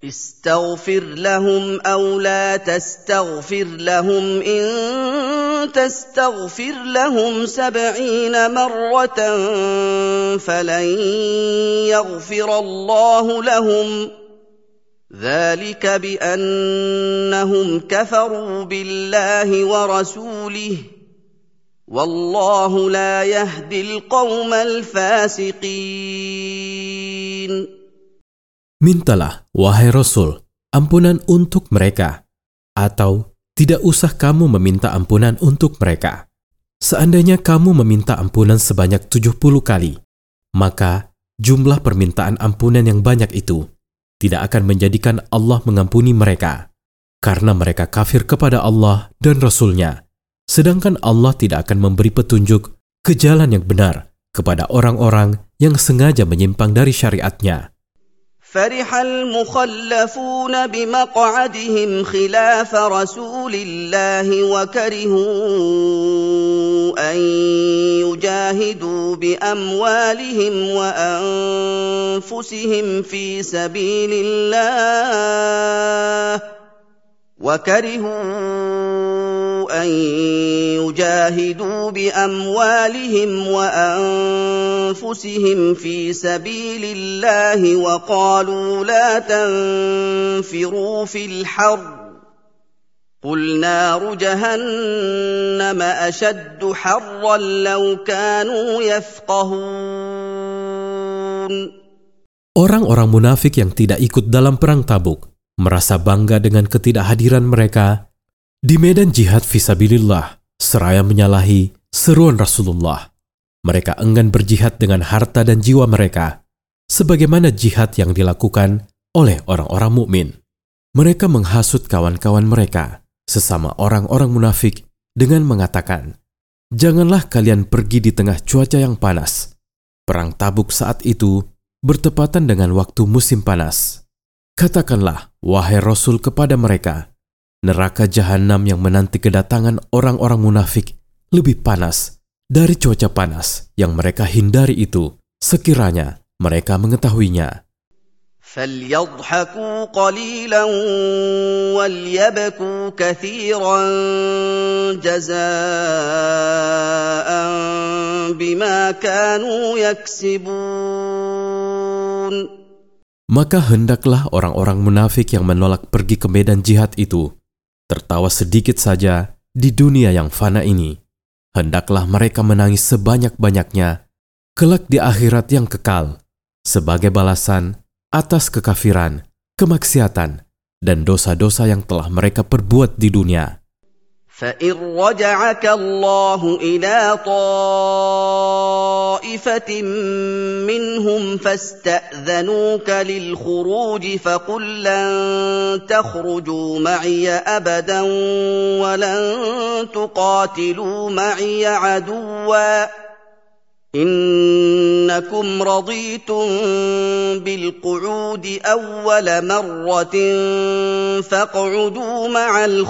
استغفر لهم أو لا تستغفر لهم إن تستغفر لهم 70 مرة فلن يغفر الله لهم ذلك بأنهم كفروا بالله ورسوله والله لا يهدي القوم الفاسقين. Mintalah, wahai Rasul, ampunan untuk mereka, atau tidak usah kamu meminta ampunan untuk mereka. Seandainya kamu meminta ampunan sebanyak 70 kali, maka jumlah permintaan ampunan yang banyak itu tidak akan menjadikan Allah mengampuni mereka, karena mereka kafir kepada Allah dan Rasul-Nya. Sedangkan Allah tidak akan memberi petunjuk ke jalan yang benar kepada orang-orang yang sengaja menyimpang dari syariat-Nya. فرح المخلفون بمقعدهم خلاف رسول الله وكرهوا أن يجاهدوا بأموالهم وأنفسهم في سبيل الله وقالوا لا تنفروا في الحر قل نار جهنم أشد حرا لو كانوا يفقهون. Orang-orang munafik yang tidak ikut dalam perang Tabuk merasa bangga dengan ketidakhadiran mereka di medan jihad fisabilillah seraya menyalahi seruan Rasulullah. Mereka enggan berjihad dengan harta dan jiwa mereka, sebagaimana jihad yang dilakukan oleh orang-orang mukmin. Mereka menghasut kawan-kawan mereka, sesama orang-orang munafik, dengan mengatakan, "Janganlah kalian pergi di tengah cuaca yang panas." Perang Tabuk saat itu bertepatan dengan waktu musim panas. Katakanlah, wahai Rasul, kepada mereka, neraka jahanam yang menanti kedatangan orang-orang munafik lebih panas dari cuaca panas yang mereka hindari itu, sekiranya mereka mengetahuinya. فَلْيَضْحَكُوا قَلِيلًا وَلْيَبْكُوا كَثِيرًا جَزَاءً بِمَا كَانُوا يَكْسِبُونَ. Maka hendaklah orang-orang munafik yang menolak pergi ke medan jihad itu tertawa sedikit saja di dunia yang fana ini. Hendaklah mereka menangis sebanyak-banyaknya kelak di akhirat yang kekal sebagai balasan atas kekafiran, kemaksiatan, dan dosa-dosa yang telah mereka perbuat di dunia. فَإِنْ رَجَعَكَ اللَّهُ إِلَى طَائِفَةٍ مِّنْهُمْ فَاسْتَأْذَنُوكَ لِلْخُرُوجِ فَقُل لَّن تَخْرُجُوا مَعِيَ أَبَدًا وَلَن تُقَاتِلُوا مَعِيَ عَدُوًّا إِنَّكُمْ رَضِيتُم بِالْقُعُودِ أَوَّلَ مَرَّةٍ فَاقْعُدُوا مَعَ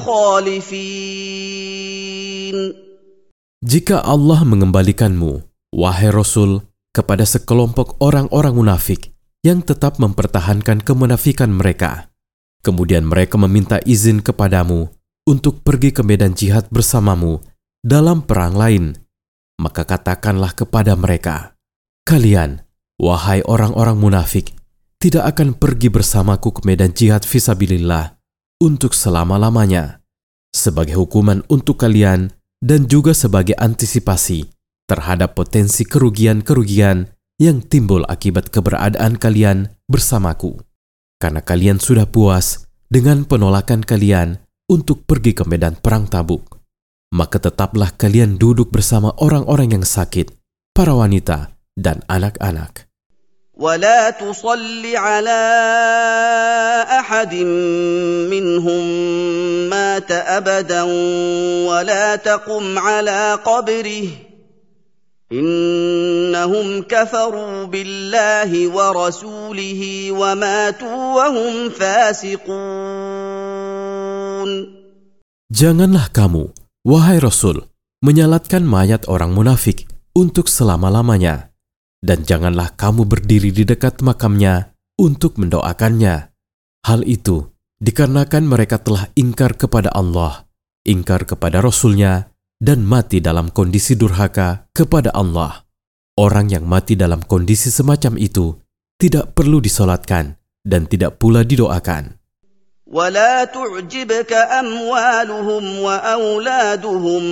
الْخَالِفِينَ. Jika Allah mengembalikanmu, wahai Rasul, kepada sekelompok orang-orang munafik yang tetap mempertahankan kemunafikan mereka, kemudian mereka meminta izin kepadamu untuk pergi ke medan jihad bersamamu dalam perang lain, maka katakanlah kepada mereka, "Kalian, wahai orang-orang munafik, tidak akan pergi bersamaku ke medan jihad fisabilillah untuk selama-lamanya, sebagai hukuman untuk kalian dan juga sebagai antisipasi terhadap potensi kerugian-kerugian yang timbul akibat keberadaan kalian bersamaku. Karena kalian sudah puas dengan penolakan kalian untuk pergi ke medan perang Tabuk, maka tetaplah kalian duduk bersama orang-orang yang sakit, para wanita, dan anak-anak. ولا تصل على أحد منهم مات أبدا ولا تقم على قبره إنهم كفروا بالله ورسوله وماتوا وهم فاسقون. Janganlah kamu, wahai Rasul, menyalatkan mayat orang munafik untuk selama-lamanya. Dan janganlah kamu berdiri di dekat makamnya untuk mendoakannya. Hal itu dikarenakan mereka telah ingkar kepada Allah, ingkar kepada Rasul-Nya, dan mati dalam kondisi durhaka kepada Allah. Orang yang mati dalam kondisi semacam itu tidak perlu disolatkan dan tidak pula didoakan. ولا تعجبك أموالهم وأولادهم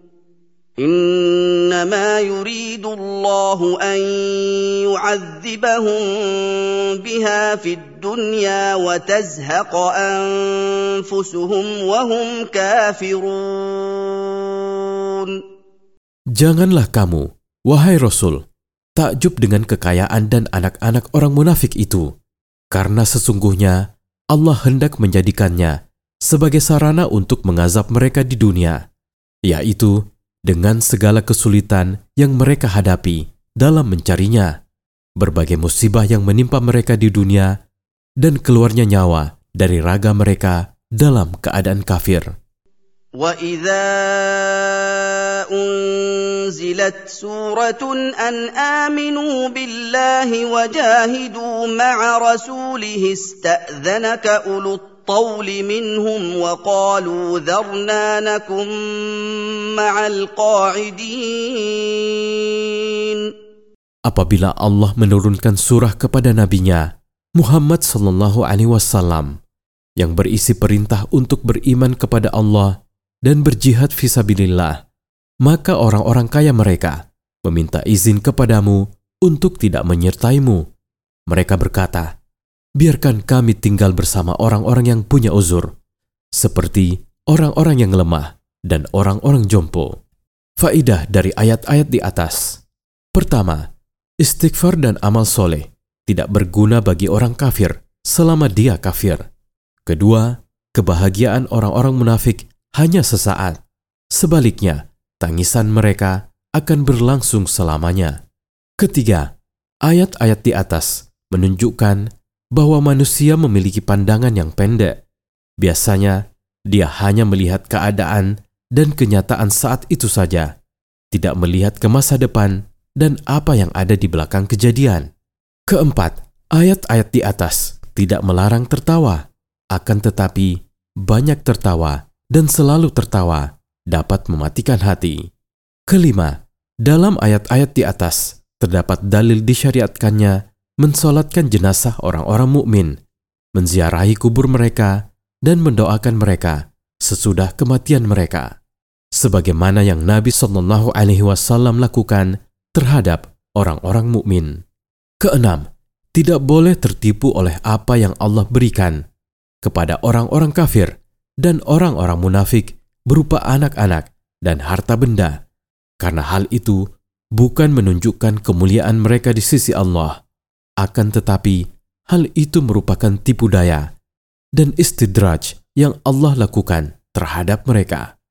إنما يريد الله أن يعذبهم بها في الدنيا وتزهق أنفسهم وهم كافرون. Janganlah kamu, wahai Rasul, takjub dengan kekayaan dan anak-anak orang munafik itu, karena sesungguhnya Allah hendak menjadikannya sebagai sarana untuk mengazab mereka di dunia, yaitu dengan segala kesulitan yang mereka hadapi dalam mencarinya, berbagai musibah yang menimpa mereka di dunia, dan keluarnya nyawa dari raga mereka dalam keadaan kafir. وَإِذَا أُنزِلَتْ سُورَةٌ أَنْ آمِنُوا بِاللَّهِ وَجَاهِدُوا مَعَ رَسُولِهِ اسْتَأْذَنَكَ أُولُو الطَّوْلِ مِنْهُمْ وَقَالُوا ذَرْنَا نَكُن مَّعَ الْقَاعِدِينَ. Apabila Allah menurunkan surah kepada nabinya Muhammad SAW yang berisi perintah untuk beriman kepada Allah dan berjihad fisabilillah, maka orang-orang kaya mereka meminta izin kepadamu untuk tidak menyertaimu. Mereka berkata, biarkan kami tinggal bersama orang-orang yang punya uzur, seperti orang-orang yang lemah dan orang-orang jompo. Faidah dari ayat-ayat di atas. Pertama, istighfar dan amal soleh tidak berguna bagi orang kafir selama dia kafir. Kedua, kebahagiaan orang-orang munafik hanya sesaat. Sebaliknya, tangisan mereka akan berlangsung selamanya. Ketiga, ayat-ayat di atas menunjukkan bahwa manusia memiliki pandangan yang pendek. Biasanya, dia hanya melihat keadaan dan kenyataan saat itu saja, tidak melihat ke masa depan dan apa yang ada di belakang kejadian. Keempat, ayat-ayat di atas tidak melarang tertawa, akan tetapi banyak tertawa dan selalu tertawa dapat mematikan hati. Kelima, dalam ayat-ayat di atas terdapat dalil disyariatkannya mensolatkan jenazah orang-orang mukmin, menziarahi kubur mereka, dan mendoakan mereka sesudah kematian mereka, sebagaimana yang Nabi SAW lakukan terhadap orang-orang mukmin. Keenam, tidak boleh tertipu oleh apa yang Allah berikan kepada orang-orang kafir dan orang-orang munafik berupa anak-anak dan harta benda, karena hal itu bukan menunjukkan kemuliaan mereka di sisi Allah. Akan tetapi, hal itu merupakan tipu daya dan istidraj yang Allah lakukan terhadap mereka.